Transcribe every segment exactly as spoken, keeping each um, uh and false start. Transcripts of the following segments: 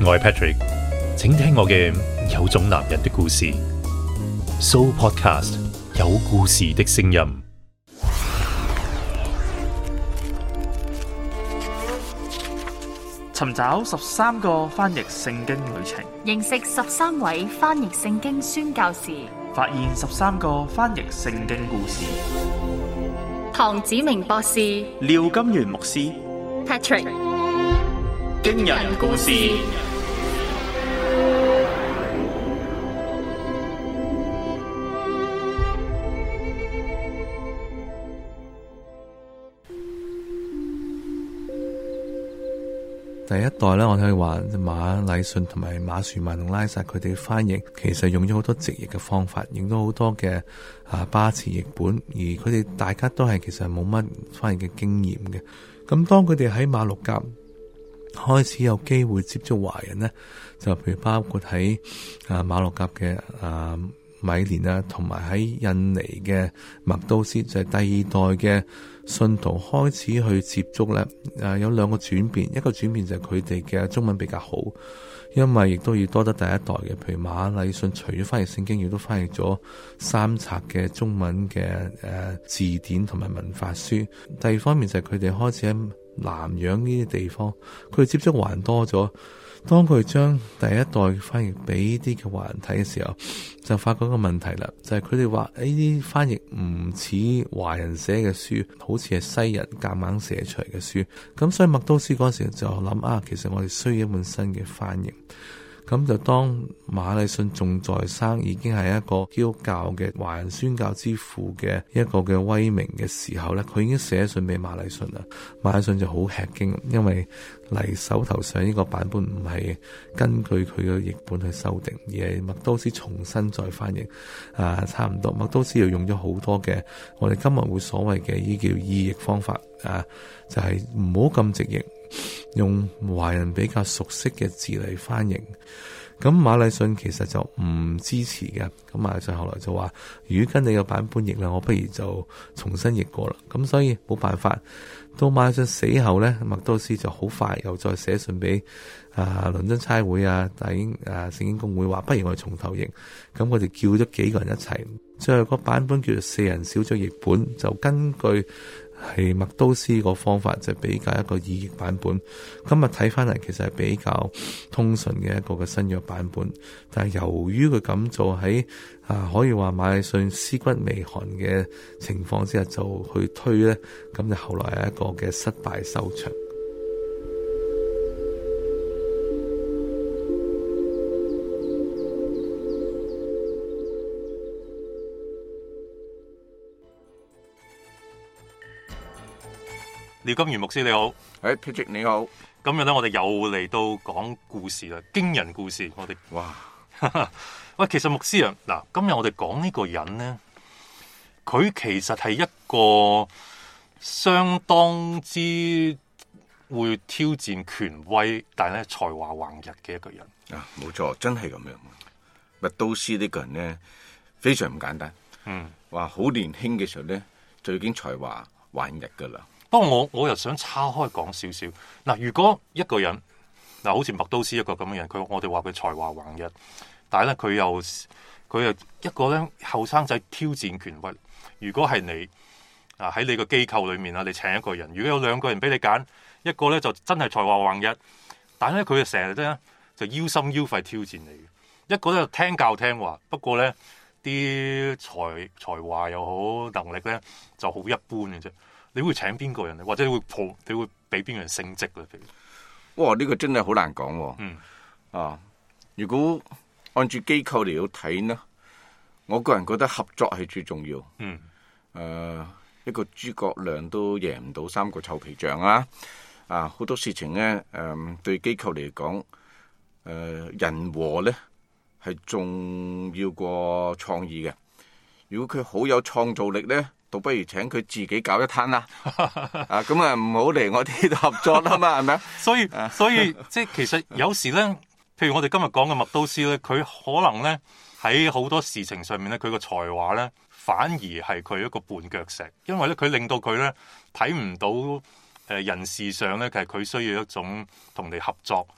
我係 Patrick， 請聽我嘅有種男人的故事。So Podcast 有故事的聲音。 尋找十三個翻譯聖經旅程， 認識十三位翻譯聖經宣教士， 發現十三個翻譯聖經故事。 唐子明博士、 廖金元牧師、 Patrick， 驚人故事。 第一代咧，我可以話馬禮遜同埋馬殊曼同拉薩佢哋翻譯，其實用咗好多直譯嘅方法，用咗好多嘅啊巴詞譯本，而佢哋大家都係其實冇乜翻譯嘅經驗嘅。咁當佢哋喺馬六甲開始有機會接觸華人呢，就譬如包括喺啊馬六甲嘅啊米連啊，同埋喺印尼嘅麥都斯，就係、是、第二代嘅信徒開始去接觸咧。誒，有兩個轉變，一個轉變就係佢哋嘅中文比較好，因為亦都要多得第一代嘅，譬如馬禮遜除咗翻譯聖經，亦都翻譯咗三冊嘅中文嘅誒、呃、字典同埋文法書。第二方面就係佢哋開始喺南洋呢啲地方，佢哋接觸華人多咗。當佢將第一代翻譯俾啲嘅華人睇嘅時候，就發覺一個問題啦，就係佢哋話呢啲翻譯唔似華人寫嘅書，好似係西人夾硬寫出嚟嘅書。咁所以麥都斯嗰時就諗啊，其實我哋需要一本新嘅翻譯。咁就當馬禮遜仲在生，已經係一個基督教嘅華人宣教之父嘅一個嘅威名嘅時候咧，佢已經寫信俾馬禮遜啦。馬禮遜就好吃驚，因為嚟手頭上呢個版本唔係根據佢嘅譯本去修訂，而係麥都斯重新再翻譯。啊，差唔多麥都斯又用咗好多嘅我哋今日會所謂嘅呢叫意譯方法啊，就係唔好咁直譯，用華人比較熟悉嘅字嚟翻譯。咁馬禮遜其實就唔支持嘅，咁馬禮遜後來就話，如果跟你嘅版本譯啦，我不如就重新譯過啦。咁所以冇辦法，到馬禮遜死後呢，麥都斯就好快又再寫信俾啊倫敦差會啊大英啊聖經公會，話不如我哋從頭譯。咁我哋叫咗幾個人一齊，最後個版本叫做四人小組譯本，就根據係麥都斯個方法，就比較一個意譯版本。今日睇翻嚟，其實係比較通順嘅一個嘅新約版本。但係由於佢咁做喺啊，可以話馬禮遜屍骨未寒嘅情況之下就去推咧，咁就後來係一個嘅失敗收場。 廖金元牧師你好， 誒 Patrick 你好， 今日咧我哋又嚟到講故事啦，驚人故事。我哋哇， 喂，其實牧師啊，嗱，今日我哋講呢個人咧，佢其實係一個相當之會挑戰權威，但係咧才華橫溢嘅一個人啊，冇錯，真係咁樣。麥都斯呢個人咧，非常唔簡單。嗯，話好年輕嘅時候咧，就已經才華橫溢噶啦。 不過我我又想叉開講少少嗱，如果一個人嗱，好似麥都斯一個咁嘅人，佢我哋話佢才華橫溢，但係咧佢又佢又一個咧後生仔挑戰權威。如果係你啊喺你個機構裏面啊，你請一個人，如果有兩個人俾你揀，一個咧就真係才華橫溢，但係咧佢就成日咧就腰心腰肺挑戰你；一個咧就聽教聽話，不過咧啲才才華又好，能力咧就好一般嘅啫。你會請邊個人咧？或者你會抱，你會俾邊個人升職咧？譬如， 哇！呢、這個真係好難講喎。 嗯。 啊，如果按住機構嚟到睇呢，我個人覺得合作係最重要。 嗯。 誒、呃，一個諸葛亮都贏唔到三個臭皮匠啊！啊，好多事情咧，誒、呃，對機構嚟講，誒、呃，人和咧係重要過創意嘅。如果佢好有創造力咧，倒不如請佢自己搞一攤啦，啊咁啊唔好嚟我哋度合作啦嘛，係咪啊？ 所以所以即係其實有時咧，譬如我哋今日講嘅麥都斯咧，佢可能咧喺好多事情上面咧，佢個才華咧反而係佢一個絆腳石，因為咧佢令到佢咧睇唔到誒人事上咧，其實佢需要一種同你合作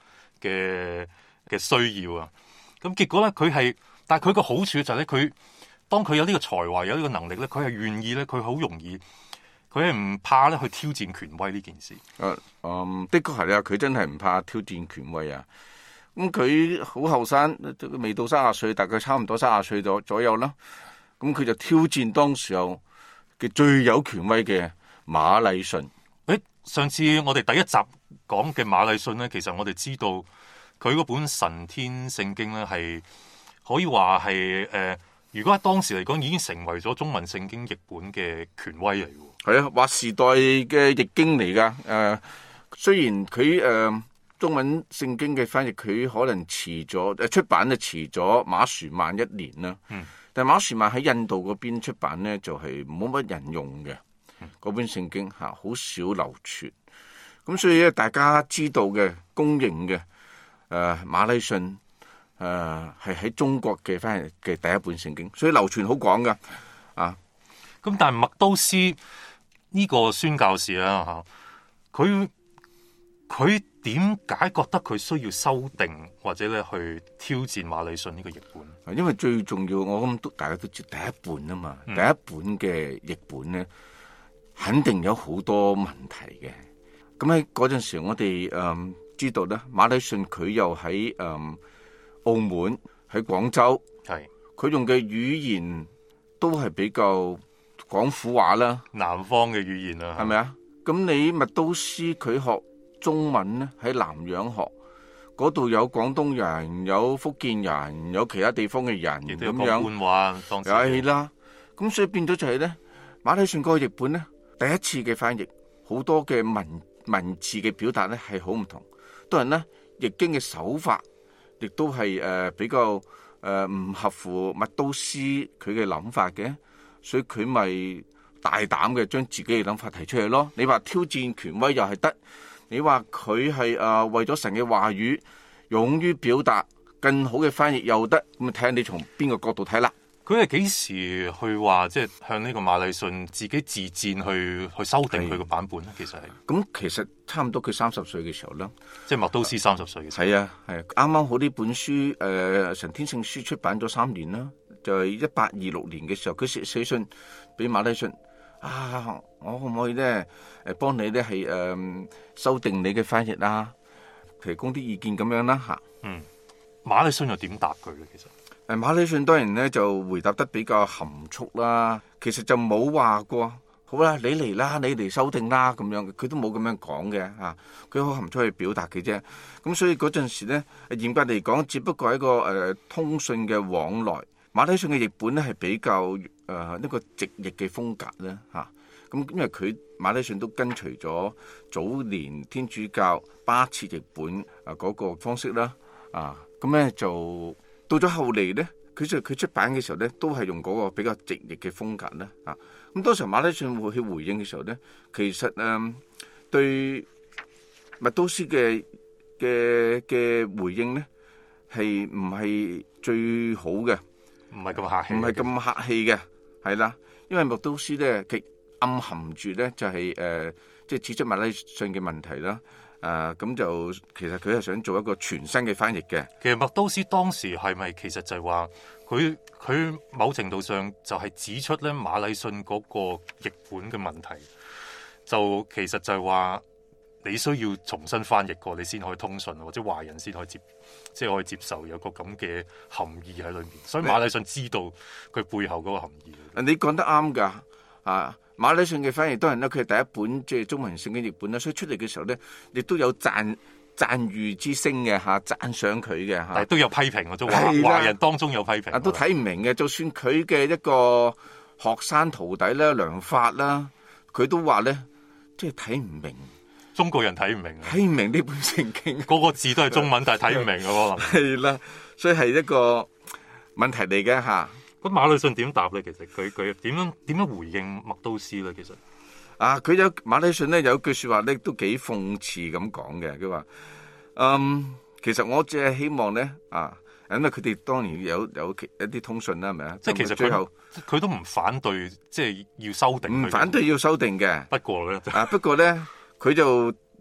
嘅嘅需要啊。咁結果咧，佢係，但係佢個好處就係咧，佢當佢有呢個才華，有呢個能力咧，佢係願意咧，佢好容易，佢係唔怕咧去挑戰權威呢件事。 誒，嗯，的確係啊，佢真係唔怕挑戰權威啊。咁佢好後生，未到三十歲，大概差唔多三十歲左左右啦。咁佢就挑戰當時候嘅最有權威嘅馬禮遜。 誒，上次我哋第一集講嘅馬禮遜咧，其實我哋知道佢嗰本神天聖經咧係可以話係誒，如果喺當時嚟講已經成為咗中文聖經譯本嘅權威嚟嘅。 係啊，劃時代嘅譯經嚟噶。誒、呃，雖然佢誒、呃、中文聖經嘅翻譯佢可能遲咗，誒出版就遲咗馬殊曼一年啦。嗯。但係馬殊曼喺印度嗰邊出版咧，就係冇乜人用嘅嗰、嗯、本聖經嚇，好少流傳。咁所以咧，大家知道嘅公認嘅誒、呃、馬禮遜誒係喺中國嘅翻譯嘅第一本聖經，所以流傳好廣噶啊。 咁但係麥都斯呢個宣教士啦嚇，佢佢點解覺得佢需要修訂或者咧去挑戰馬禮遜呢個譯本？ 因為最重要，我諗都大家都知第一本啊嘛，嗯、第一本嘅譯本咧，肯定有好多問題嘅。咁喺嗰陣時，我哋誒、嗯、知道咧，馬禮遜佢又喺誒、嗯、澳門喺廣州，係佢用嘅語言都係比較廣府話啦， 南方嘅語言啊， 係咪啊？咁你麥都斯佢學中文咧，喺南洋學嗰度有廣東人，有福建人，有其他地方嘅人咁樣， 官話當時係啦。咁所以變咗就係咧，馬禮遜嗰個譯本咧，第一次嘅翻譯，好多嘅文文字嘅表達咧係好唔同。當然啦，譯經嘅手法亦都係誒、呃、比較誒唔、呃、合乎麥都斯佢嘅諗法嘅，所以佢咪大膽嘅將自己嘅諗法提出嚟咯。你話挑戰權威又係得。你話佢係誒為咗神嘅話語，勇於表達，更好嘅翻譯又得，咁啊睇下你從邊個角度睇啦。 佢係幾時去話即係向呢個馬禮遜自己自薦去去修訂佢個版本咧？其實係咁，其實差唔多佢三十歲嘅時候啦， 即係麥都斯三十歲嘅時候。 係啊，係啱啱好呢本書誒、呃《神天聖書》出版咗三年啦，就係一八二六年嘅時候，佢寫寫信俾馬禮遜。啊！我可唔可以咧誒幫你咧係誒修訂你嘅翻譯啊，提供啲意見咁樣啦嚇。 嗯，馬禮遜又點答佢咧？其實誒馬禮遜當然咧就回答得比較含蓄啦，其實就冇話過好啦，你嚟啦，你嚟修訂啦咁樣，佢都冇咁樣講嘅嚇，佢好含蓄去表達嘅啫。咁所以嗰陣時咧，嚴格嚟講，只不過係一個誒、呃、通訊嘅往來。馬禮遜嘅譯本咧係比較誒呢、呃這個直譯嘅風格咧嚇，咁、啊、因為佢馬禮遜都跟隨咗早年天主教巴設譯本啊嗰、那個方式啦，啊咁咧就到咗後嚟咧，佢就佢出版嘅時候咧都係用嗰個比較直譯嘅風格咧啊，咁當時馬禮遜會去回應嘅時候咧，其實誒、呃、對麥都斯嘅嘅嘅回應咧係唔係最好嘅。 唔係咁客氣， 唔係咁客氣嘅，係啦，因為麥都斯咧，極暗含住咧就係、是、誒，即、呃、係、就是、指出馬禮遜嘅問題啦。誒、呃，咁就其實佢係想做一個全新嘅翻譯嘅。 其實麥都斯當時係咪其實就係話佢佢某程度上就係指出咧馬禮遜嗰個譯本嘅問題，就其實就係話你需要重新翻譯過，你先可以通訊，或者華人先可以接。即係可以接受有個咁嘅含義喺裏面，所以馬禮遜知道佢背後嗰個含義。 你講得啱㗎，啊馬禮遜嘅翻譯當然啦，佢係第一本即係中文聖經譯本啦，所以出嚟嘅時候咧，亦都有讚讚譽之聲嘅嚇，讚賞佢嘅嚇， 但係都有批評嘅，都華華人當中有批評， 啊都睇唔明嘅。就算佢嘅一個學生徒弟啦、梁發啦，佢都話咧，即係睇唔明。 中國人睇唔明， 睇唔明呢本聖經， 個個字都係中文，但係睇唔明嘅可能係啦，所以係一個問題嚟嘅吓。 咁馬禮遜點答咧？其實佢佢點樣點樣回應麥都斯咧？其實啊，佢有馬禮遜咧有句說話咧都幾諷刺咁講嘅。佢話：嗯，其實我只係希望咧啊，因為佢哋當然有有一啲通訊啦，係咪啊？ 即係其實最後佢都唔反對，即係要修訂。 唔反對要修訂嘅。 不過咧， 啊不過咧。佢就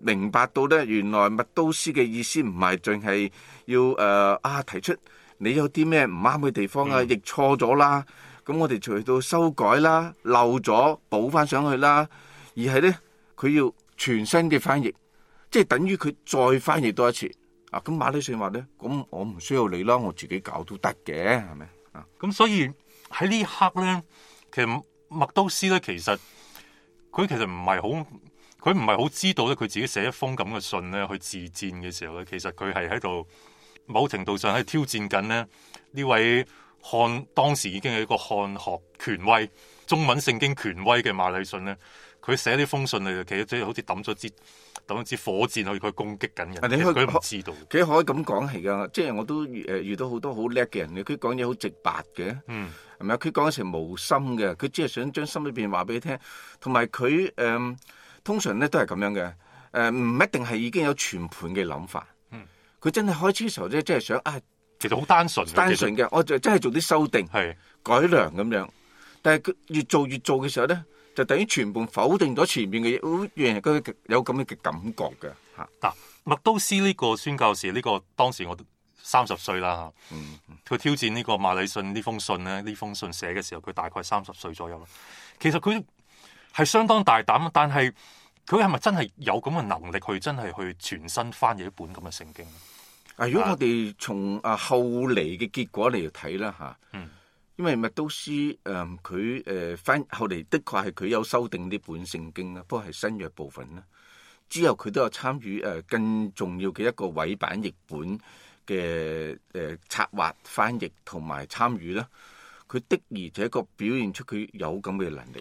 明白到咧，原來麥都斯嘅意思唔係淨係要誒、呃、啊提出你有啲咩唔啱嘅地方啊， 嗯、 譯錯咗啦，咁我哋就去到修改啦，漏咗補翻上去啦，而係咧佢要全新嘅翻譯，即係等於佢再翻譯多一次啊。咁馬禮遜話咧，咁我唔需要你啦，我自己搞都得嘅，係咪啊？ 咁所以喺呢一刻咧，其實麥都斯咧，其實佢其實唔係好。佢唔係好知道咧，佢自己寫一封咁嘅信咧，去自薦嘅時候咧，其實佢係喺度某程度上喺挑戰緊咧呢位漢當時已經係一個漢學權威、中文聖經權威嘅馬禮遜咧。佢寫呢封信嚟，其實即係好似抌咗支抌咗支火箭去佢攻擊緊人。 你可以佢唔知道， 佢可以咁講係噶，即係我都誒遇到好多好叻嘅人，佢講嘢好直白嘅， 嗯， 係咪啊？佢講成無心嘅，佢只係想將心裏邊話俾你聽，同埋佢誒。通常咧都係咁樣嘅，誒、呃、唔一定係已經有全盤嘅諗法。嗯，佢真係開始嘅時候咧，真係想啊， 其實好單純， 單純嘅，我就真係做啲修訂、 係改良咁樣。但係佢越做越做嘅時候咧，就等於全部否定咗前面嘅嘢，好讓人覺有咁嘅嘅感覺嘅嚇。 嗱、啊，麥都斯呢個宣教士，呢、呢個當時我三十歲啦嚇。嗯，佢挑戰呢個馬禮遜呢封信咧，呢封信寫嘅時候，佢大概三十歲左右啦。其實佢係相當大膽，但係佢係咪真係有咁嘅能力去真係去全新翻譯一本咁嘅聖經？ 啊，如果我哋從啊後嚟嘅結果嚟睇啦嚇， 嗯， 因為麥都斯誒佢誒翻後嚟的確係佢有修訂呢本聖經啦，不過係新約部分啦。之後佢都有參與誒更重要嘅一個委版譯本嘅誒策劃、翻譯同埋參與啦。佢的而且確表現出佢有咁嘅能力。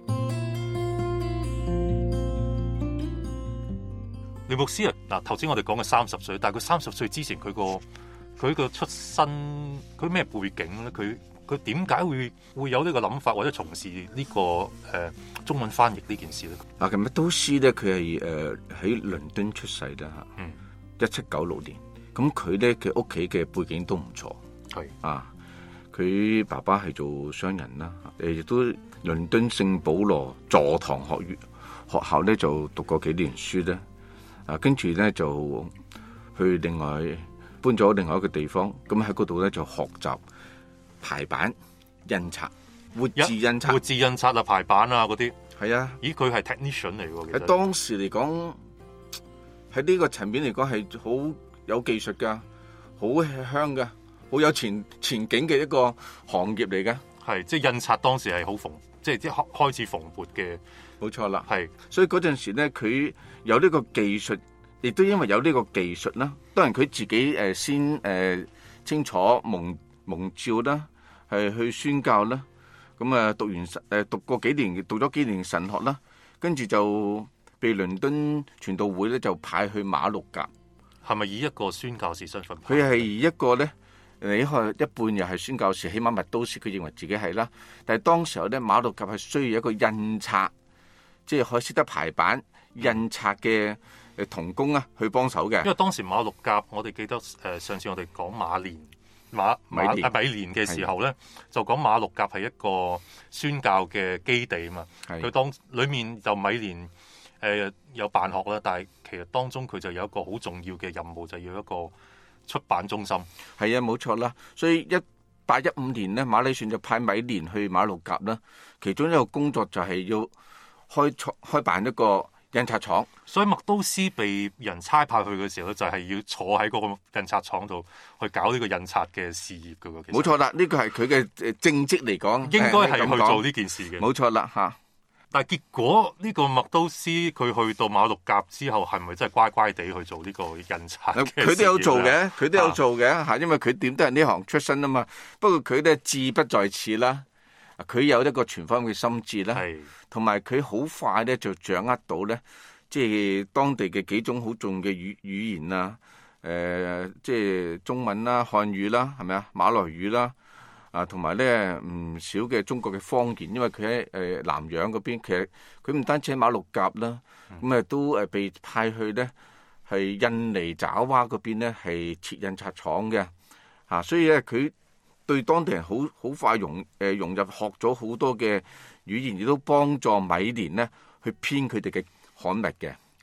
廖牧師啊，嗱，頭先我哋講嘅三十歲，但係佢三十歲之前佢個佢個出身，佢咩背景咧？佢佢點解會會有呢個諗法或者從事呢、這個誒、呃、中文翻譯呢件事咧？ 啊，咁麥都斯咧，佢係誒喺倫敦出世啦嚇， 嗯， 一七九六年，咁佢咧嘅屋企嘅背景都唔錯， 係啊，佢爸爸係做商人啦，誒亦都倫敦聖保羅座堂學院學校咧就讀過幾年書咧。啊，跟住咧就去另外搬咗另外一個地方，咁喺嗰度咧就學習排版、印刷、活字印刷、 活字印刷啊、排版啊嗰啲。係啊， 咦，佢係 technician 嚟喎。 喺當時嚟講，喺呢個層面嚟講係好有技術噶，好香噶，好有前前景嘅一個行業嚟噶。 係，即係印刷當時係好蓬，即係即係開始蓬勃嘅。 冇錯啦， 係， 所以嗰陣時咧，佢有呢個技術，亦都因為有呢個技術啦。當然佢自己誒先誒、呃、清楚蒙蒙召啦，係去宣教啦。咁啊讀完神誒讀過幾年，讀咗幾年神學啦，跟住就被倫敦傳道會咧就派去馬六甲。 係咪以一個宣教士身份？ 佢係以一個咧，你看一半又係宣教士，起碼麥都斯佢認為自己係啦。但係當時候咧，馬六甲係需要一個印刷。即係可以識得排版印刷嘅誒童工啊，去幫手嘅。 因為當時馬六甲，我哋記得誒、呃、上次我哋講馬連馬馬米連嘅時候咧，就講馬六甲係一個宣教嘅基地啊嘛。佢當裡面就米連誒、呃、有辦學啦，但係其實當中佢就有一個好重要嘅任務，就要一個出版中心。係啊，冇錯啦。所以一八一五年咧，馬禮遜就派米連去馬六甲啦。其中一個工作就係要開創開辦一個印刷廠， 所以麥都斯被人差派去嘅時候咧，就係、是、要坐喺嗰個印刷廠度去搞呢個印刷嘅事業嘅喎。 冇錯啦，呢、這個係佢嘅誒正職嚟講， 應該係去做呢件事嘅。 冇錯啦嚇。 但係結果呢、這個麥都斯佢去到馬六甲之後，係咪真係乖乖地去做呢個印刷？ 佢都有做嘅，佢都有做嘅嚇、啊，因為佢點都係呢行出身啊嘛。不過佢咧志不在此啦。佢有一個全方位嘅心智啦，同埋佢好快咧就掌握到咧，即係當地嘅幾種好重嘅語語言啊，誒、呃，即係中文啦、漢語啦，係咪啊？馬來語啦，啊，同埋咧唔少嘅中國嘅方言，因為佢喺誒南洋嗰邊，其實佢唔單止喺馬六甲啦，咁、嗯、啊都誒被派去咧係印尼爪哇嗰邊咧係設印刷廠嘅，啊，所以咧佢對當地人好好快融誒、呃、融入，學咗好多嘅語言，亦都幫助米連呢去編佢哋嘅刊物嘅。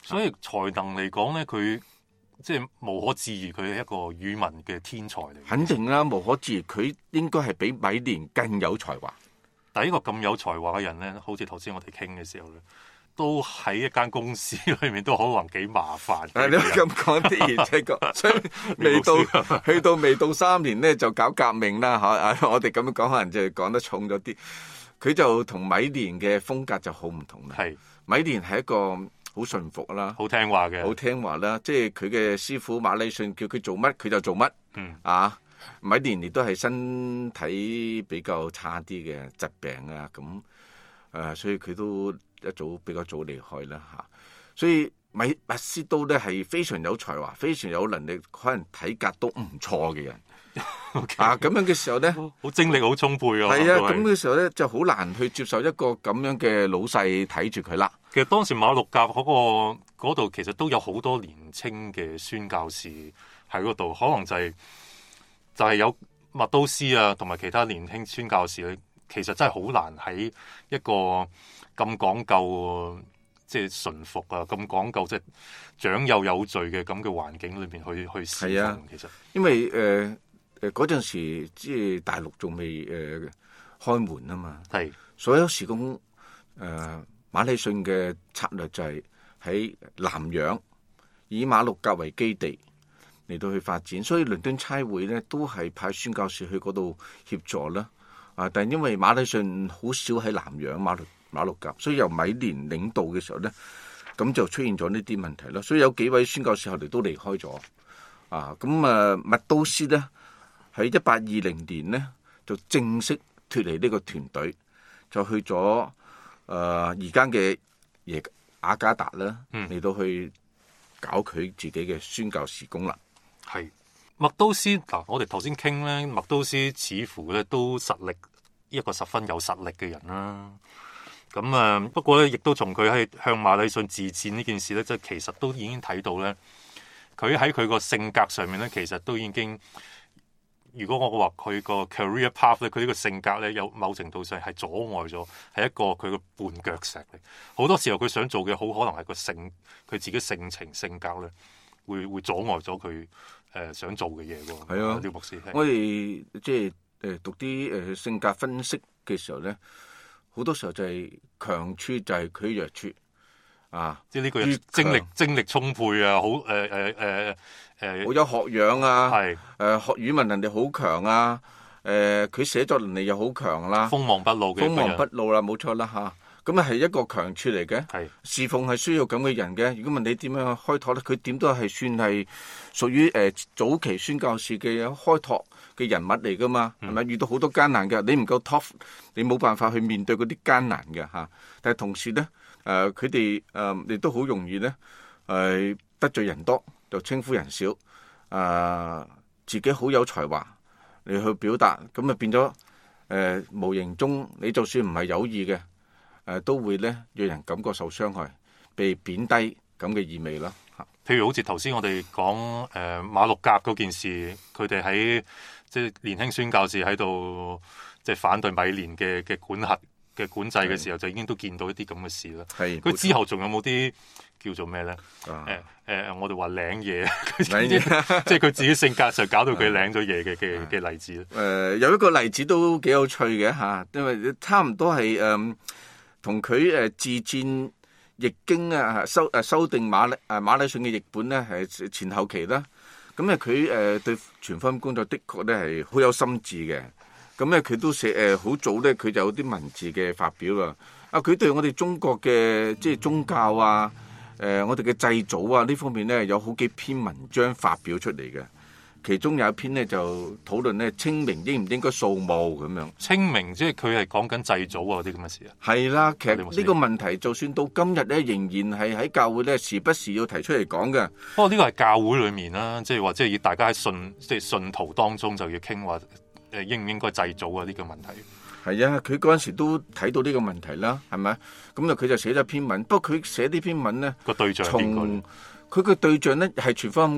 所以才能嚟講咧，佢即係無可置疑，佢係一個語文嘅天才嚟。 肯定啦，無可置疑，佢應該係比米蓮更有才華。 但係呢個咁有才華嘅人咧，好似頭先我哋傾嘅時候咧，都喺一間公司裏面都可能幾麻煩。 係你咁講的而且確，所以未到去到未到三年咧就搞革命啦嚇！啊，我哋咁樣講可能就係講得重咗啲。佢就同米蓮嘅風格就好唔同啦。 係米蓮係一個好順服啦， 好聽話嘅， 好聽話啦。即係佢嘅師傅馬禮遜叫佢做乜佢就做乜。 嗯啊，米蓮亦都係身體比較差啲嘅疾病啊，咁誒、呃，所以佢都一早比較早離開啦嚇。所以米麥斯都咧係非常有才華、非常有能力，可能體格都唔錯嘅人。 Okay. 啊，咁樣嘅時候咧， 好精力好充沛啊！ 係啊，咁嘅時候咧就好難去接受一個咁樣嘅老細睇住佢啦。 其實當時馬六甲嗰、嗰個嗰度其實都有好多年青嘅宣教士喺嗰度，可能就係、係、就係、係、有麥都斯啊，同埋其他年輕宣教士咧，其實真係好難喺一個咁講究即係順服啊，咁講究即係長幼有序嘅咁嘅環境裏邊去去侍奉。 啊、 其實因為誒誒嗰陣時即係大陸仲未誒開門啊嘛， 係所有時工誒、呃、馬禮遜嘅策略就係喺南洋以馬六甲為基地嚟到去發展，所以倫敦差會咧都係派宣教士去嗰度協助啦。啊，但係因為馬禮遜好少喺南洋馬六馬六甲，所以由米蓮領導嘅時候咧，咁就出現咗呢啲問題啦。所以有幾位宣教士後嚟都離開咗。啊，咁啊麥都斯咧。喺一八二零年咧，就正式脱離呢個團隊，就去咗誒而家嘅耶雅加達啦，嚟、嗯、到去搞佢自己嘅宣教事工啦。 係麥都斯嗱，我哋頭先傾咧，麥都斯似乎咧都實力一個十分有實力嘅人啦。咁啊，不過咧，亦都從佢喺向馬禮遜自薦呢件事咧，即係其實都已經睇到咧，佢喺佢個性格上面咧，其實都已經。如果我話佢個 career path 咧，佢呢個性格咧，有某程度上係阻礙咗，係一個佢個絆腳石嚟。好多時候佢想做嘅，好可能係個性，佢自己性情性格咧，會會阻礙咗佢誒想做嘅嘢喎。係啊，廖牧師， 我哋即係誒讀啲誒性格分析嘅時候咧，好多時候就係強處就係佢弱處。啊！ 即係呢個人精力精力充沛啊，好誒誒誒誒， 好有學養啊， 係誒、 呃、學語文能力好強啊，誒、呃、佢寫作能力又好強啦， 鋒芒不露嘅， 鋒芒不露啦，冇錯啦嚇。咁啊係一個強處嚟嘅，係侍奉係需要咁嘅人嘅。如果問你點樣開拓咧，佢點都係算係屬於誒、呃、早期宣教士嘅開拓嘅人物嚟噶嘛，係咪、嗯？遇到好多艱難嘅，你唔夠 tough，你冇辦法去面對嗰啲艱難嘅嚇。但係同時咧。誒佢哋誒亦都好容易咧，誒、呃、得罪人多就稱呼人少，誒、呃、自己好有才華你去表達，咁啊變咗誒、呃、無形中你就算唔係有意嘅，誒、呃、都會咧讓人感覺受傷害，被貶低咁嘅意味啦。嚇， 譬如好似頭先我哋講誒馬六甲嗰件事，佢哋喺即係年輕宣教士喺度即係反對米蓮嘅嘅管轄嘅管制嘅時候，就已經都見到一啲咁嘅事啦。係佢之後仲有冇啲叫做咩咧？誒誒、啊呃，我哋話領嘢，即係佢自己性格上搞到佢領咗嘢嘅嘅嘅例子咧。誒、 呃，有一個例子都幾有趣嘅嚇，因為差唔多係誒同佢誒自薦譯經啊，修誒修訂馬誒馬禮遜嘅譯本咧，係前後期啦。咁咧佢誒對傳福音工作的確咧係好有心志嘅。咁咧佢都寫誒好早咧，佢就有啲文字嘅發表啦。啊，佢對我哋中國嘅即係宗教啊，誒、呃、我哋嘅祭祖啊呢方面咧，有好幾篇文章發表出嚟嘅。其中有一篇咧就討論咧清明應唔應該掃墓咁樣。 清明即係佢係講緊祭祖啊啲咁嘅事啊。 係啦，其實呢個問題就算到今日咧，仍然係喺教會咧時不時要提出嚟講嘅。 不過呢個係教會裡面啦，即係話即係要大家喺信即係信徒當中就要傾話。誒應唔應該祭祖啊？呢個問題係啊，佢嗰陣時都睇到呢個問題啦，係咪？咁啊，佢就寫咗篇文。不過佢寫呢篇文咧， 個對象係邊個？ 佢個對象咧係傳福音嘅，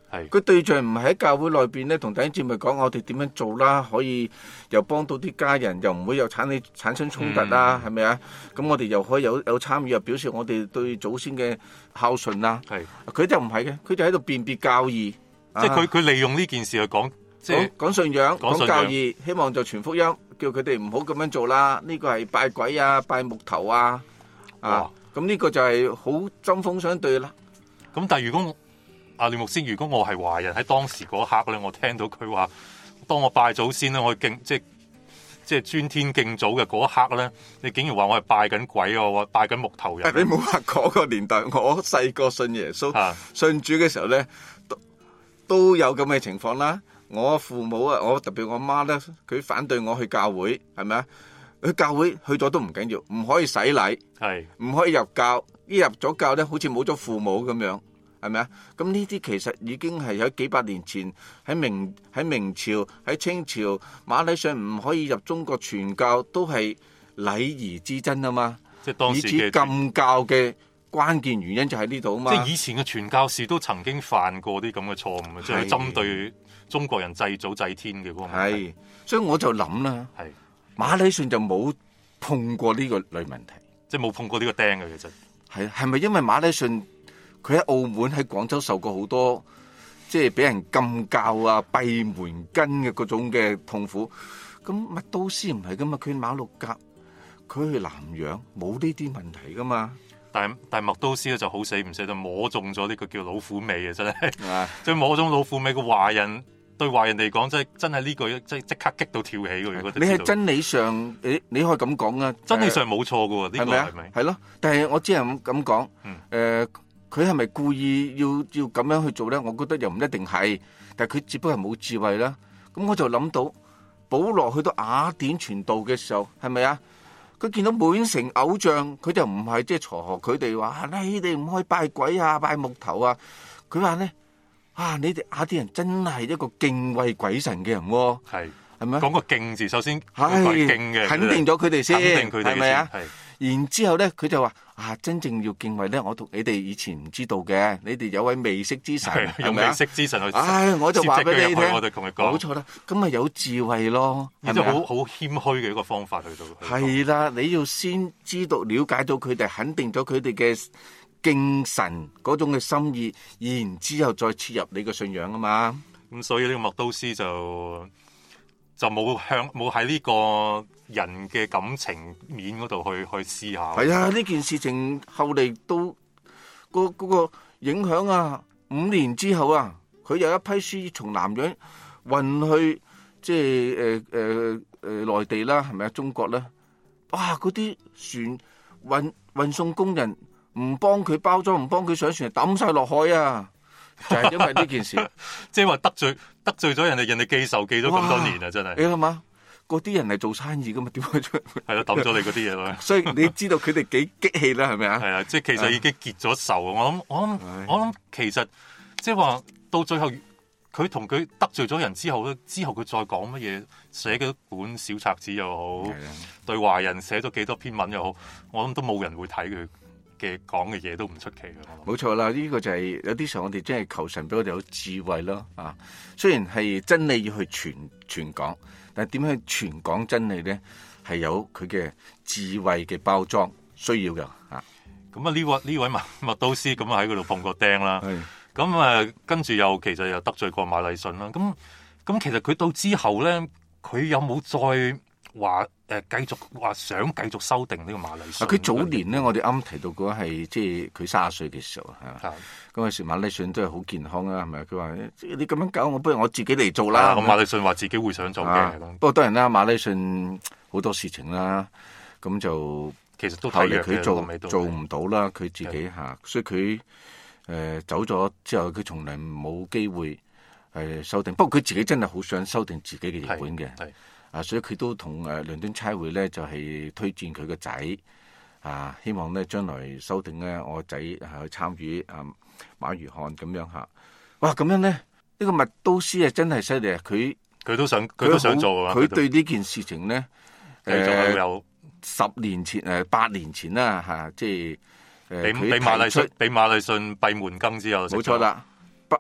係佢對象唔係喺教會內邊咧，同弟兄姊妹講我哋點樣做啦，可以又幫到啲家人，又唔會有產生產生衝突啦，係咪啊？咁我哋又可以有有參與，又表示我哋對祖先嘅孝順啦。 係佢就唔係嘅，佢就喺度辨別教義， 即係佢佢利用呢件事去講，即係講信仰、 講信仰講教義，希望就傳福音，叫佢哋唔好咁樣做啦。呢個係拜鬼啊、拜木頭啊，啊哇， 咁呢個就係好針鋒相對啦。 咁但係如果阿廖牧師，如果我係華人喺當時嗰刻咧，我聽到佢話，當我拜祖先咧，我敬即係即係尊天敬祖嘅嗰一刻咧，你竟然話我係拜緊鬼啊，我拜緊木頭人。 你冇話嗰個年代，我細個信耶穌、 啊、 信主嘅時候咧，都都有咁嘅情況啦。我父母啊，我特別我媽咧，佢反對我去教會，係咪啊？去教會去咗都唔緊要，唔可以洗禮， 係唔可以入教。一入咗教咧，好似冇咗父母咁樣。係咪啊？咁呢啲其實已經係喺幾百年前喺明喺明朝喺清朝馬禮遜唔可以入中國傳教，都係禮儀之爭啊嘛。 即係當時嘅以至禁教嘅關鍵原因就喺呢度啊嘛。 即係以前嘅傳教士都曾經犯過啲咁嘅錯誤，即係針對中國人祭祖祭天嘅嗰個問題。 係，所以我就諗啦， 係馬禮遜就冇碰過呢個類問題， 即係冇碰過呢個釘嘅其實。 係係咪因為馬禮遜？佢喺澳門喺廣州受過好多，即係俾人禁教啊、閉門羹嘅嗰種嘅痛苦。咁麥都斯唔係噶嘛，佢馬六甲，佢去南洋冇呢啲問題噶嘛。 但係但係麥都斯咧就好死唔死就摸中咗呢個叫老虎尾啊！真係， 啊、 即係摸中老虎尾個華人對華人嚟講，真係真係呢句即係即刻激到跳起嘅。如果你係真理上，你你可以咁講啊， 真理上冇錯嘅喎，呢、這個係咪？ 係咯，但係我只係咁咁講，誒、 嗯。 佢係咪故意要要咁樣去做咧？我覺得又唔一定係，但係佢只不過係冇智慧啦。咁我就諗到，保羅去到雅典傳道嘅時候，係咪啊？佢見到滿城偶像，佢就唔係即係嘈學佢哋話，你哋唔可以拜鬼啊、拜木頭啊。佢話咧，啊，你哋雅典人真係一個敬畏鬼神嘅人喎。係係咪？ 講個敬字，首先係敬嘅， 肯定咗佢哋先， 肯定佢哋係咪啊？ 係。 然之後咧，佢就話：啊，真正要敬畏咧，我同你哋以前唔知道嘅，你哋有位未識之神， 用未識之神去。 唉，我就話俾你聽， 我哋同佢講， 冇錯啦，咁咪有智慧咯， 係咪好好謙虛嘅一個方法去到。 係啦，你要先知道、了解到佢哋，肯定咗佢哋嘅敬神嗰種嘅心意，然之後再切入你嘅信仰啊嘛。 咁所以呢個麥都斯就就冇向冇喺呢個人嘅感情面嗰度去去思考。 係啊，呢件事情後嚟都嗰嗰個影響啊，五年之後啊，佢有一批書從南洋運去即係誒誒誒內地啦，係咪啊？中國咧，哇！嗰啲船運運送工人唔幫佢包裝，唔幫佢上船，抌晒落海啊！就係、是、因為呢件事， 即係話得罪得罪咗人哋，人哋記仇記咗咁多年啊！真係你諗下，嗰啲人係做生意噶嘛？點解出係咯抌咗你嗰啲嘢咯？ 所以你知道佢哋幾激氣啦，係咪啊？ 係啊，即係其實已經結咗仇。我諗我諗我諗，其實即係話到最後，佢同佢得罪咗人之後咧，之後佢再講乜嘢，寫幾本小冊子又好，對華人寫咗幾多篇文又好，我諗都冇人會睇佢嘅講嘅嘢，都唔出奇嘅。 冇錯啦，呢、這個就係、是、有啲時候我哋真係求神俾我哋有智慧咯啊！雖然係真理要去傳傳講，但係點樣去傳講真理咧，係有佢嘅智慧嘅包裝需要嘅啊！ 咁啊呢位呢位麥麥都斯咁啊喺嗰度碰過釘啦，咁啊跟住又其實又得罪過馬禮遜啦。咁咁其實佢到之後咧，佢有冇再話誒繼續話想繼續修訂呢個馬禮遜？ 佢早年咧，我哋啱提到過係即係佢卅歲嘅時候嚇，嗰陣時馬禮遜都係好健康啊，係咪？佢話你咁樣搞，我不如我自己嚟做啦。 咁馬禮遜話自己會想做嘅、啊， 不過當然啦，馬禮遜好多事情啦，咁就其實都後嚟佢做做唔到啦，佢自己嚇，所以佢誒、呃、走咗之後，佢從來冇機會誒修訂。不過佢自己真係好想修訂自己嘅譯本嘅。啊，所以佢都同誒倫敦差會咧，就係、是、推薦佢個仔啊，希望咧將來修訂咧，我個仔係去參與啊馬如漢咁樣嚇。哇，咁樣咧，呢、這個麥都斯啊真係犀利啊！佢佢都想佢都想做啊！ 佢對呢件事情咧， 誒有、呃、 十年前誒八、呃、年前啦嚇、啊，即係誒俾俾馬禮遜俾馬禮遜閉門羹之後， 冇錯啦。不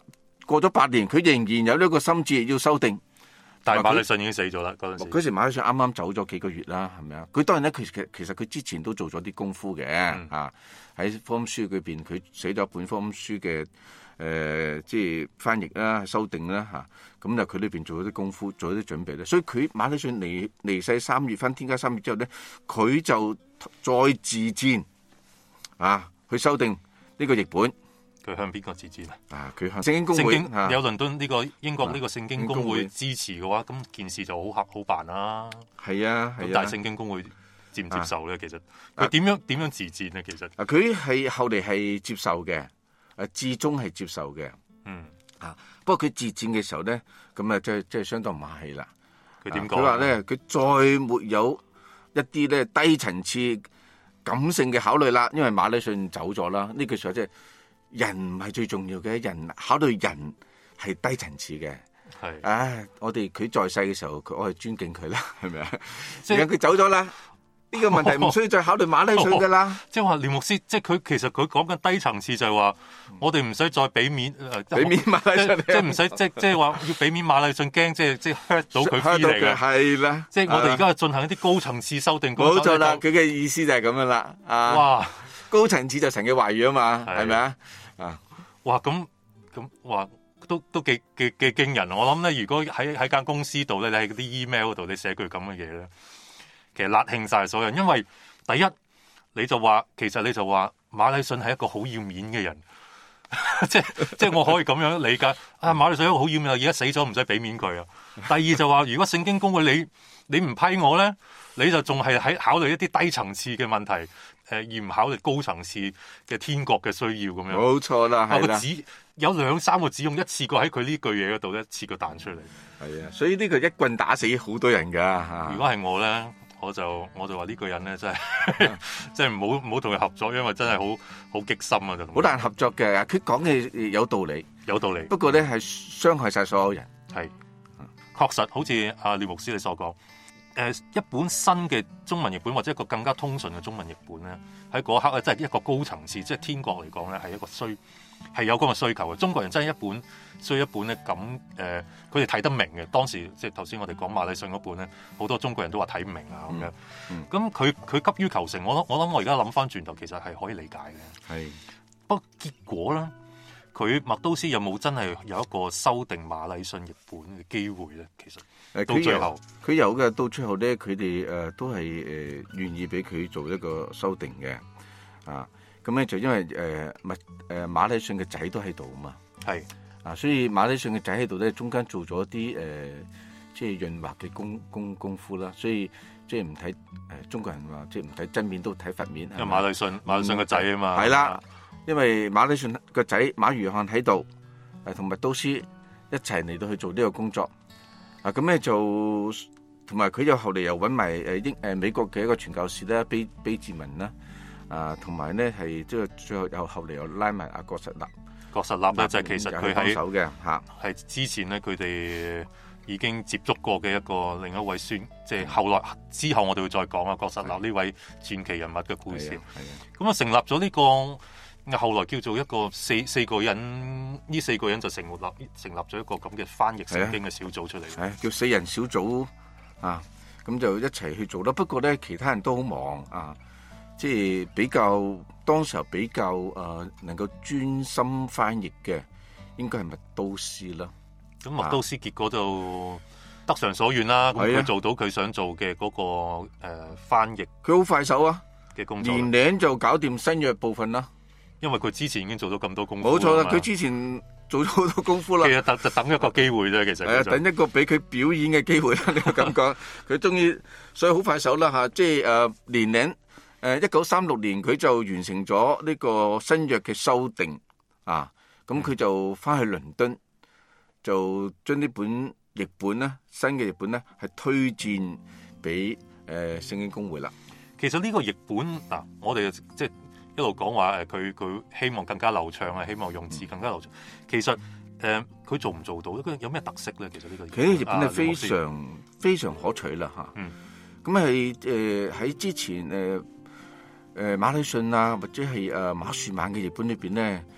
過咗八年，佢仍然有呢個心志要修訂。 但係馬禮遜已經死咗啦，嗰陣時。 嗰時馬禮遜啱啱走咗幾個月啦，係咪啊？佢當然咧，佢其其實佢之前都做咗啲功夫嘅、嗯、啊。喺福音書裏邊，佢寫咗一本福音書嘅誒、呃，即係翻譯啦、修訂啦嚇。咁就佢裏邊做咗啲功夫，做咗啲準備咧。所以佢馬禮遜離離世三月翻天家三月之後咧，佢就再自薦啊，去修訂呢個譯本。 佢向邊個自薦啊？ 啊，佢向聖經公會有倫敦呢個英國呢個聖經公會支持嘅話，咁件事就好合好辦啦。 係啊，係啊。 但係聖經公會接唔接受咧？其實佢點樣點樣自薦咧？其實啊，佢係後嚟係接受嘅，誒，至終係接受嘅。 嗯啊，不過佢自薦嘅時候咧，咁啊，即係即係相當唔客氣啦。 佢點講？ 佢話咧，佢再沒有一啲咧低層次感性嘅考慮啦，因為馬禮遜走咗啦。呢句説話即係。人唔係最重要嘅，人考慮人係低層次嘅。係，唉，我哋佢在世嘅時候，佢我係尊敬佢啦，係咪啊？而家佢走咗啦，呢、呢個問題唔需要再考慮馬禮遜噶啦。即係話廖牧師，即係佢其實佢講緊低層次就係話，我哋唔使再俾面， 俾面馬禮遜， 即係唔使即即係話要俾面馬禮遜，驚即係即係 hurt 到佢 feel 嚟嘅。係啦，即係我哋而家進行一啲高層次修訂。 冇錯啦，佢嘅意思就係咁樣啦。啊，哇！高層次就神嘅話語啊嘛，係咪啊？啊， 哇！咁咁哇，都都幾幾幾驚人。我諗咧，如果喺喺間公司度咧，你喺嗰啲 email 度，你寫句咁嘅嘢咧，其實辣興晒所有人。因為第一，你就話，其實你就話馬禮遜係一個好要面嘅人，即即係我可以咁樣理解。啊，馬禮遜一個好要面，而家死咗唔使俾面佢啊。第二就話，如果聖經公會你你唔批我咧，你就仲係喺考慮一啲低層次嘅問題。誒而唔考慮高層次嘅天國嘅需要咁樣， 冇錯啦，係啦。 指有兩三個指用一次過喺佢呢句嘢嗰度一次過彈出嚟。 係啊，所以呢個一棍打死好多人㗎嚇。 如果係我咧，我就我就話呢個人咧真係真係唔好唔好同佢合作，因為真係好好激心啊！就好難合作嘅。佢講嘅有道理， 有道理。 不過咧係傷害晒所有人。 係確實，好似阿廖牧師你所講。誒一本新嘅中文譯本或者一個更加通順嘅中文譯本咧，喺嗰刻咧，真係一個高層次，即係天國嚟講咧，係一個需係有咁嘅需求嘅。中國人真係一本需要一本咧咁誒，佢哋睇得明嘅。當時即係頭先我哋講馬禮遜嗰本咧，好多中國人都話睇唔明啊咁樣。咁佢佢急於求成，我我諗我而家諗翻轉頭，其實係可以理解嘅。係，不過結果咧。佢麥都斯有冇真係有一個修訂馬禮遜譯本嘅機會咧？其實誒，到最後佢有嘅，到最後咧，佢哋誒都係誒願意俾佢做一個修訂嘅啊。咁咧就因為誒麥誒馬禮遜嘅仔都喺度啊嘛，係啊，所以馬禮遜嘅仔喺度咧，中間做咗啲誒即係潤滑嘅功功功夫啦。所以即係唔睇誒中國人話，即係唔睇真面都睇佛面。 因為馬禮遜馬禮遜嘅仔啊嘛， 係啦。因為馬禮遜個仔馬如翰喺度，誒同麥都斯一齊嚟到去做呢個工作，啊咁咧就同埋佢又後嚟又揾埋誒英誒美國嘅一個傳教士啦，卑卑志文啦，啊同埋咧係即係最後又後嚟又拉埋阿郭實立， 郭實立咧就係其實佢喺手嘅嚇， 係之前咧佢哋已經接觸過嘅一個另一位孫，即係後來之後我哋會再講啊郭實立呢位傳奇人物嘅故事，咁啊成立咗呢個。後來叫做一個四四個人，呢四個人就成立成立咗一個咁嘅翻譯聖經嘅小組出嚟， 係叫四人小組啊，咁就一齊去做啦。不過咧，其他人都好忙啊，即係比較當時候比較誒、呃、能夠專心翻譯嘅，應該係麥都斯啦。 咁麥都斯結果就得償所願啦，咁佢、啊、做到佢想做嘅嗰、那個誒、呃、翻譯， 佢好快手啊嘅工作， 年零就搞掂新約部分啦。 因為佢之前已經做咗咁多功夫， 冇錯啦，佢之前做咗好多功夫啦。 其實等就等一個機會啫，其實係啊， 等一個俾佢表演嘅機會啦。你個感覺，佢終於所以好快手啦吓，即係誒年齡誒一九三六年佢就完成咗呢個新約嘅修訂啊，咁佢就翻去倫敦，就將呢本譯本咧，新嘅譯本咧係推薦俾誒聖經公會啦。 其實呢個譯本嗱，我哋即係。一路講話誒，佢佢希望更加流暢啊，希望用字更加流暢。其實誒，佢、呃、做唔做到？有咩特色咧？其實呢個佢呢個譯本係非常、啊、非常可取啦嚇。嗯，咁係誒喺之前誒誒、呃、馬禮遜啊，或者係誒馬樹曼嘅譯本裏邊咧，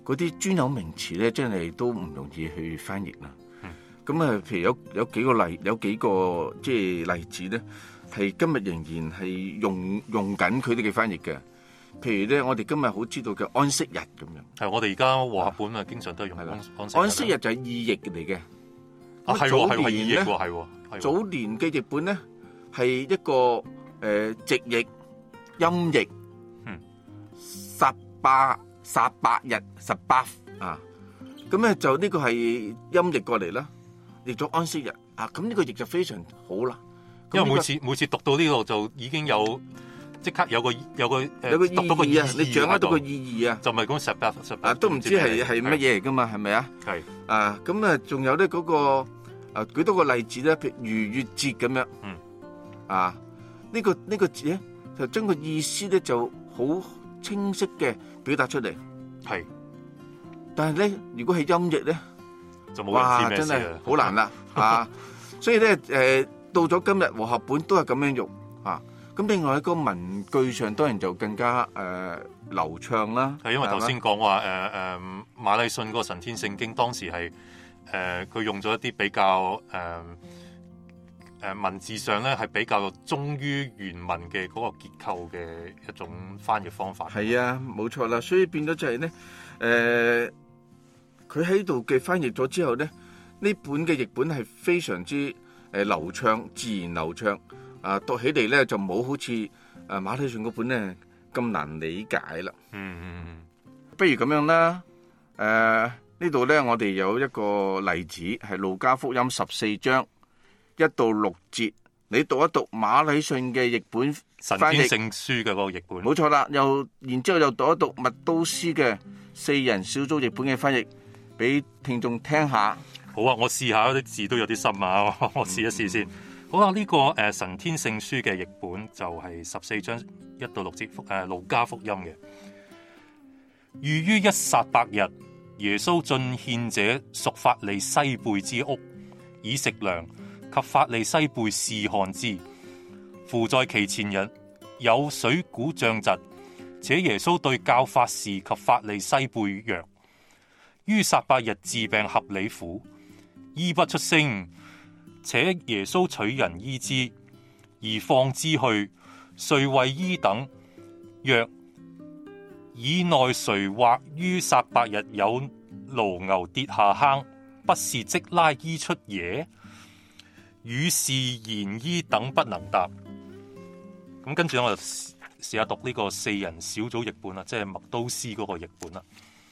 嗰啲專有名詞咧，真係都唔容易去翻譯啦。咁啊、嗯，譬如有有幾個例，有幾個即係例子咧，係今日仍然係用用緊佢哋嘅翻譯嘅。譬如咧，我哋今日好知道嘅安息日咁樣。 係我哋而家和合本啊，經常都係用安安息日。 安息日就係意譯嚟嘅。 啊，係喎，係喎，意譯喎，係喎。 早年嘅譯本咧係一個誒、呃、直譯音譯， 嗯， 十八十八日十八啊，咁咧就呢個係音譯過嚟啦，譯咗安息日啊，咁呢個譯就非常好啦。 因為每次、這個、每次讀到呢度就已經有。即刻有個有個誒， 有個意義啊！你掌握到個意義啊， 就唔係講十八十八啊，都唔知係係乜嘢嚟噶嘛？係咪啊？ 係啊，咁啊，仲有咧嗰個啊，舉多個例子咧，譬如逾越節咁樣， 嗯， 啊，呢個呢個字咧，就將個意思咧就好清晰嘅表達出嚟， 係。 但係咧，如果係音譯咧， 就冇人知咩事啦， 真係好難啦啊！所以咧，誒，到咗今日和合本都係咁樣用啊。咁另外一個文句上當然就更加誒、呃、流暢啦。 係因為頭先講話誒誒馬禮遜個神天聖經當時係誒佢用咗一啲比較誒誒、呃呃、文字上咧係比較忠於原文嘅嗰個結構嘅一種翻譯方法。 係啊，冇錯啦，所以變咗就係咧誒，佢喺度嘅翻譯咗之後咧，呢本嘅譯本係非常之誒、呃、流暢，自然流暢。啊，讀起嚟咧就冇好似誒馬禮遜嗰本咧咁難理解啦。 嗯嗯嗯， 不如咁樣啦。誒、呃、呢度咧，我哋有一個例子係路加福音十四章一到六節，你讀一讀馬禮遜嘅譯本神翻譯天聖書嘅嗰個譯本。 冇錯啦，又然之後又讀一讀麥都斯嘅四人小組譯本嘅翻譯，俾聽眾聽下。 好啊，我試下啲字都有啲深啊，我試一試先。嗯好啦，呢、這個誒、呃、神天聖書嘅譯本就係十四章一到六節，誒、呃、路加福音嘅。逾於一撒伯日，耶穌進獻者屬法利西貝之屋，以食糧，及法利西貝試看之。父在其前日有水鼓脹疾，且耶穌對教法士及法利西貝曰：於撒伯日治病合理乎？醫不出聲。且耶穌取人醫之，而放之去，遂為醫等。若以內誰或於撒伯日有驢牛跌下坑，不是即拉醫出耶？與是言醫等不能答。咁跟住我就試下讀呢個四人小組譯本啦，即係麥都斯嗰個譯本啦。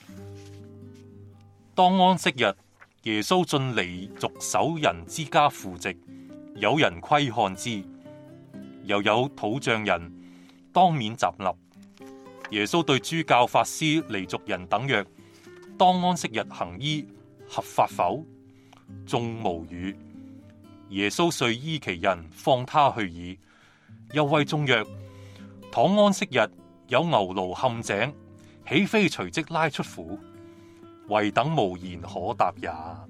當安息日，耶穌進離族守人之家赴席，有人窺看之，又有土匠人當面站立。耶穌對諸教法師、離族人等曰：當安息日行醫合法否？眾無語。耶穌遂依其人，放他去矣。又謂眾曰：倘安息日有牛驢陷井，豈非隨即拉出乎？唯等無言可答也。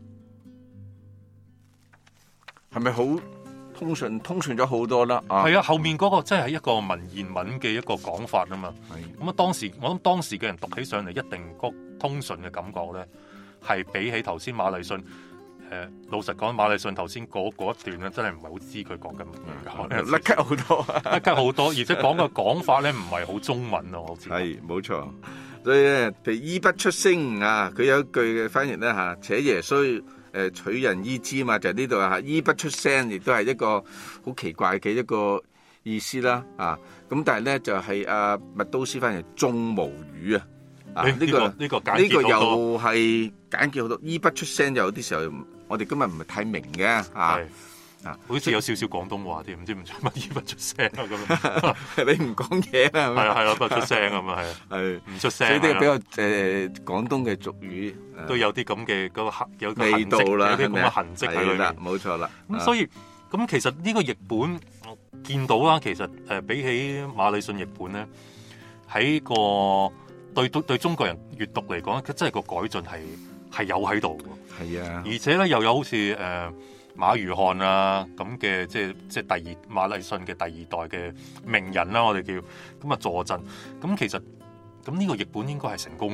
係咪好通順？通順咗好多啦。 係啊，後面嗰個真係一個文言文嘅一個講法啊嘛。咁啊，當時我諗當時嘅人讀起上嚟，一定個通順嘅感覺咧，係比起頭先馬禮遜。誒、呃，老實講，馬禮遜頭先嗰一段咧，真係唔係好知佢講緊乜嘢， 甩咳好多， 甩咳好多，而且講嘅講法咧，唔係好中文咯，好似係冇錯。所以咧，譬如醫不出聲啊，佢有一句嘅翻譯咧嚇，且耶穌誒取人醫之嘛，就係呢度啊，醫不出聲，亦都係一個好奇怪嘅一個意思啦啊。咁但係咧就係阿麥都斯翻譯眾無語啊。啊！呢、這個呢、 這個呢、 這個又係簡潔好多，醫不出聲，有啲時候我哋今日唔係太明嘅啊啊，好似有少少廣東話添，唔知唔知乜醫不出聲啊咁。 你唔講嘢啊？ 係啊係啊，不出聲咁啊係啊，係唔出聲。 所以呢個比較誒、呃、廣東嘅俗語、啊、 都有啲咁嘅嗰個痕有個味道啦， 有啲咁嘅痕跡喺裏面。 冇錯啦。 咁所以咁、啊、其實呢個譯本我見到啦，其實誒、呃、比起馬禮遜譯本咧，喺個。對對對，中國人閱讀嚟講，佢真係個改進係係有喺度嘅。係啊，而且咧又有好似誒、呃、馬如翰啊咁嘅，即係即係第二馬禮遜嘅第二代嘅名人啦，我哋叫咁啊助陣。咁其實咁呢個譯本應該係成功啦，嗬。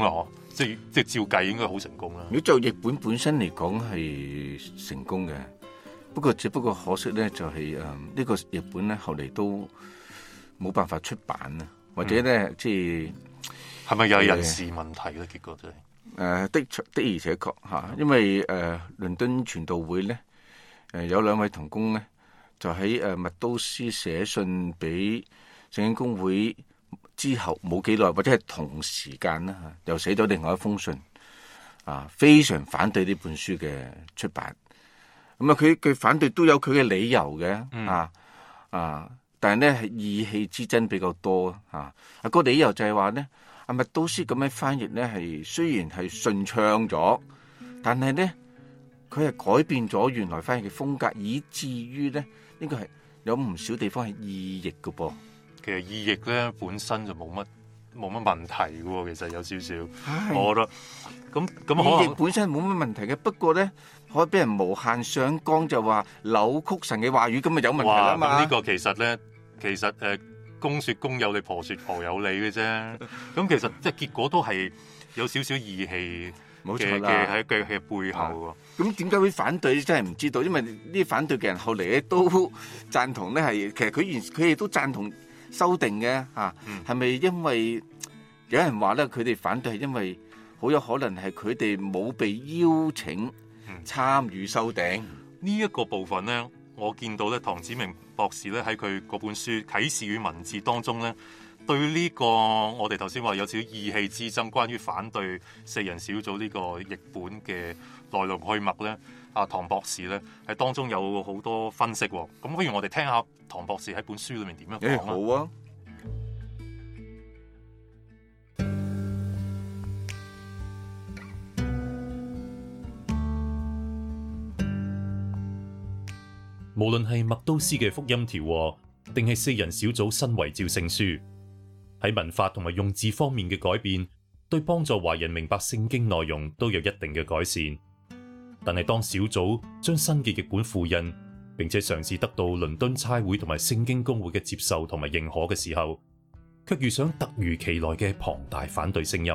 即係即係照計應該好成功啦。 如果就譯本本身嚟講係成功嘅，不過只不過可惜咧就係誒呢個譯本咧後嚟都冇辦法出版啊，或者咧、嗯、即係係咪有人事問題咧？結果就係、是、誒、 呃、的的而且確嚇，因為誒、呃、倫敦傳道會咧誒、呃、有兩位同工咧就喺誒麥都斯寫信俾聖經公會之後冇幾耐，或者係同時間啦嚇，又寫咗另外一封信啊，非常反對呢本書嘅出版。咁啊，佢佢反對都有佢嘅理由嘅、嗯、啊啊，但係咧係意氣之爭比較多啊。啊個理由就係話咧，阿麥都斯咁樣翻譯咧係雖然係順暢咗，但係咧佢係改變咗原來翻譯嘅風格，以至於咧呢個係有唔少地方係意譯嘅噃。 其實意譯咧本身就冇乜冇乜問題嘅喎，其實有少少，我覺得咁咁意譯本身冇乜問題嘅，不過咧可以俾人無限上綱，就話扭曲神嘅話語，咁咪有問題啦嘛。 咁呢個其實咧，其實誒公説公有理，婆説婆有理嘅啫。咁其實即係結果都係有少少義氣嘅嘅喺嘅嘅背後喎。 咁點解會反對？真係唔知道，因為呢啲反對嘅人後嚟咧都贊同咧，係其實佢原佢哋都贊同修訂嘅嚇，係咪因為有人話咧佢哋反對係因為好有可能係佢哋冇被邀請參與修訂呢一個部分咧？我見到咧唐子明博士咧喺佢嗰本書《啟示與文字》當中咧，對呢個我哋頭先話有少少意氣之爭，關於反對四人小組呢個譯本嘅來龍去脈咧，阿唐博士咧喺當中有好多分析喎。咁不如我哋聽下唐博士喺本書裏面點樣講啊？ 好啊！ 無論係麥都斯嘅福音調和，定係四人小組新遺照聖書，喺文法同埋用字方面嘅改變，對幫助華人明白聖經內容都有一定嘅改善。但係當小組將新嘅譯本複印，並且嘗試得到倫敦差會同埋聖經公會嘅接受同埋認可嘅時候，卻遇上突如其來嘅龐大反對聲音。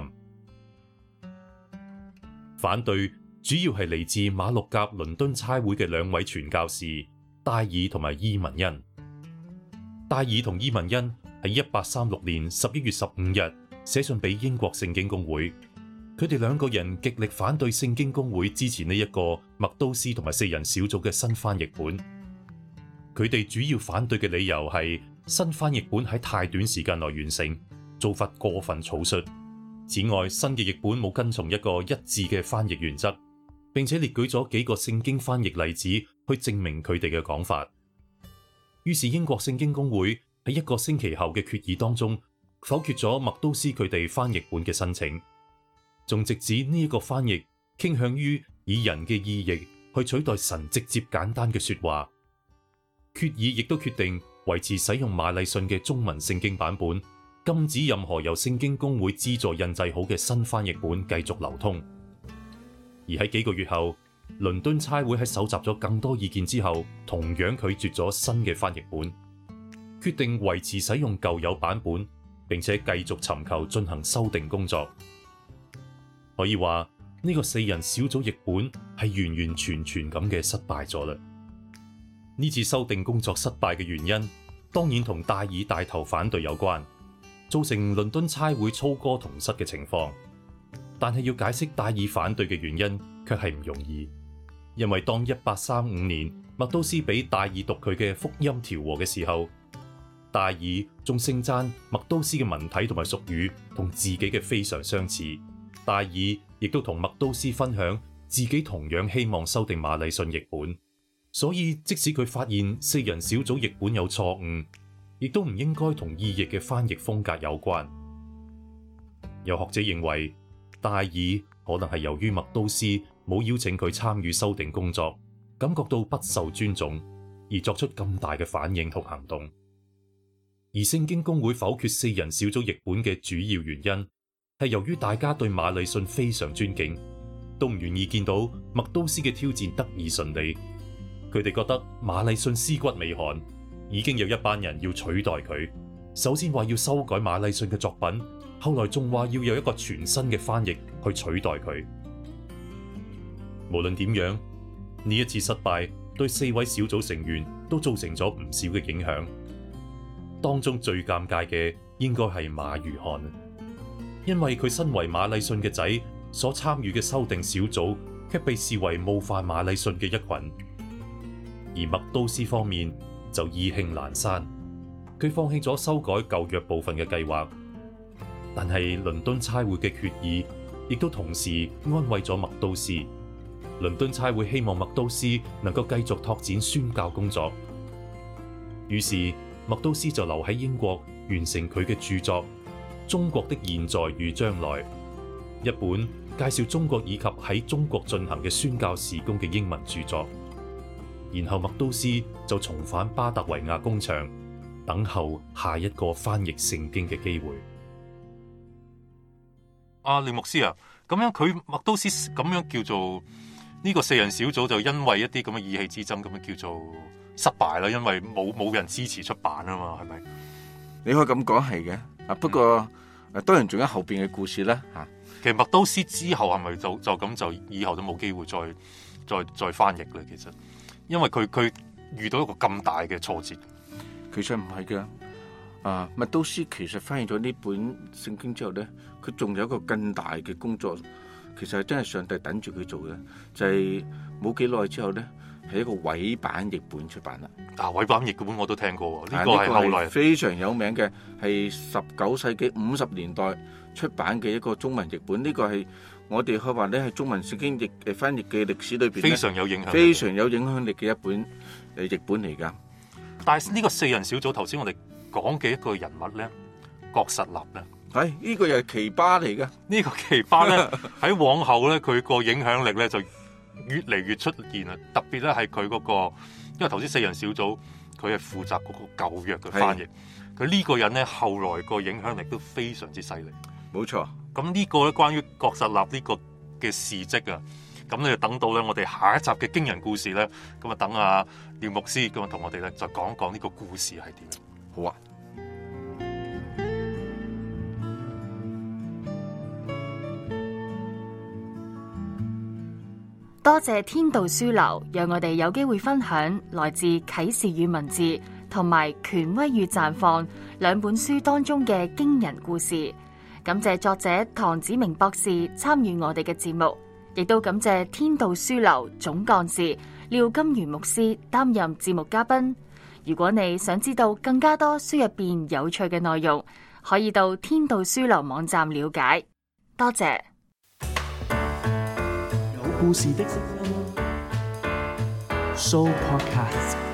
反對主要係嚟自馬六甲倫敦差會嘅兩位傳教士戴爾同埋伊文恩。戴爾同伊文恩喺一八三六年十一月十五日寫信俾英國聖經公會，佢哋兩個人極力反對聖經公會支持呢一個麥都斯同埋四人小組嘅新翻譯本。佢哋主要反對嘅理由係新翻譯本喺太短時間內完成，做法過分草率。此外，新嘅譯本冇跟從一個一致嘅翻譯原則，並且列舉咗幾個聖經翻譯例子去證明佢哋嘅講法。於是英國聖經公會喺一個星期後嘅決議當中否決咗麥都斯佢哋翻譯本嘅申請，仲直指呢一個翻譯傾向於以人嘅意譯去取代神直接簡單嘅說話。決議亦都決定維持使用馬禮遜嘅中文聖經版本，禁止任何由聖經公會資助印製好嘅新翻譯本繼續流通。而喺幾個月後，倫敦差會喺搜集咗更多意見之後，同樣拒絕咗新嘅翻譯本，決定維持使用舊有版本，並且繼續尋求進行修訂工作。可以話呢個四人小組譯本係完完全全咁嘅失敗咗啦。呢次修訂工作失敗嘅原因，當然同戴爾帶頭反對有關，造成倫敦差會操戈同失嘅情況。但係要解釋戴爾反對嘅原因，卻係唔容易，因為當一八三五年麥都斯俾戴爾讀佢嘅福音調和嘅時候，戴爾仲盛讚麥都斯嘅文體同埋俗語同自己嘅非常相似。戴爾亦都同麥都斯分享自己同樣希望修訂馬禮遜譯本，所以即使佢發現四人小組譯本有錯誤，亦都唔應該同意譯嘅翻譯風格有關。有學者認為，戴爾可能係由於麥都斯冇邀請佢參與修訂工作，感覺到不受尊重，而作出咁大嘅反應同行動。而聖經公會否決四人小組譯本嘅主要原因，係由於大家對馬禮遜非常尊敬，都唔願意見到麥都斯嘅挑戰得以順利。佢哋覺得馬禮遜屍骨未寒，已經有一班人要取代佢。首先話要修改馬禮遜嘅作品， 後來仲話要有一個全新嘅翻譯去取代佢。無論點樣，呢一次失敗對四位小組成員都造成咗唔少嘅影響。當中最尷尬嘅應該係馬如翰，因為佢身為馬禮遜嘅仔所參與嘅修訂小組，卻被視為冒犯馬禮遜嘅一群。而麥都斯方面就意興闌珊，佢放棄咗修改舊約部分嘅計劃。但係倫敦差會嘅決議亦都同時安慰咗麥都斯。倫敦差會希望麥都斯能夠繼續拓展宣教工作，於是麥都斯就留喺英國完成佢嘅著作《中國的現在與將來》，一本介紹中國以及喺中國進行嘅宣教事工嘅英文著作。然後麥都斯就重返巴特維亞工場，等候下一個翻譯聖經嘅機會。 阿廖牧師啊，咁樣佢麥都斯咁樣叫做呢個四人小組，就因為一啲咁嘅意氣之爭，咁樣叫做失敗啦。因為冇冇人支持出版啊嘛，係咪？ 你可以咁講係嘅。啊，不過誒，當然仲有後邊嘅故事啦。吓， 其實麥都斯之後係咪就就咁就以後都冇機會再再再翻譯咧？其實，因為佢佢遇到一個咁大嘅挫折。 其實唔係嘅。啊，麥都斯其實翻譯咗呢本聖經之後咧，佢仲有一個更大嘅工作，其實係真係上帝等住佢做嘅，就係冇幾耐之後咧，係一個委版譯本出版啦。 啊，委版譯本我都聽過，呢、 啊個係後來非常有名嘅，係十九世紀五十年代出版嘅一個中文譯本。呢、這個係我哋可以話咧係中文聖經譯誒翻譯嘅歷史裏邊非常有影響， 非常有影響力嘅一本誒譯本嚟㗎。 但係呢個四人小組頭先我哋講嘅一個人物咧，郭實立咧， 係呢、這個又係奇葩嚟嘅。 呢個奇葩咧喺往後咧，佢個影響力咧就越嚟越出現啦。特別咧係佢嗰個，因為頭先四人小組佢係負責嗰個舊約嘅翻譯，佢呢個人咧後來個影響力都非常之犀利。 冇錯。 咁呢個咧關於郭實立呢個嘅事蹟啊，咁你就等到咧我哋下一集嘅驚人故事咧，咁啊等阿廖牧師咁啊同我哋咧就講一講呢個故事係點。 好啊。 多謝天道書樓，讓我哋有機會分享來自啟示與文字同埋權威與綻放兩本書當中嘅驚人故事。感謝作者唐子明博士參與我哋嘅節目，亦都感謝天道書樓總幹事廖金源牧師擔任節目嘉賓。如果你想知道更加多書入邊有趣嘅內容，可以到天道書樓網站了解。多謝。 有故事的聲音 Show Podcast。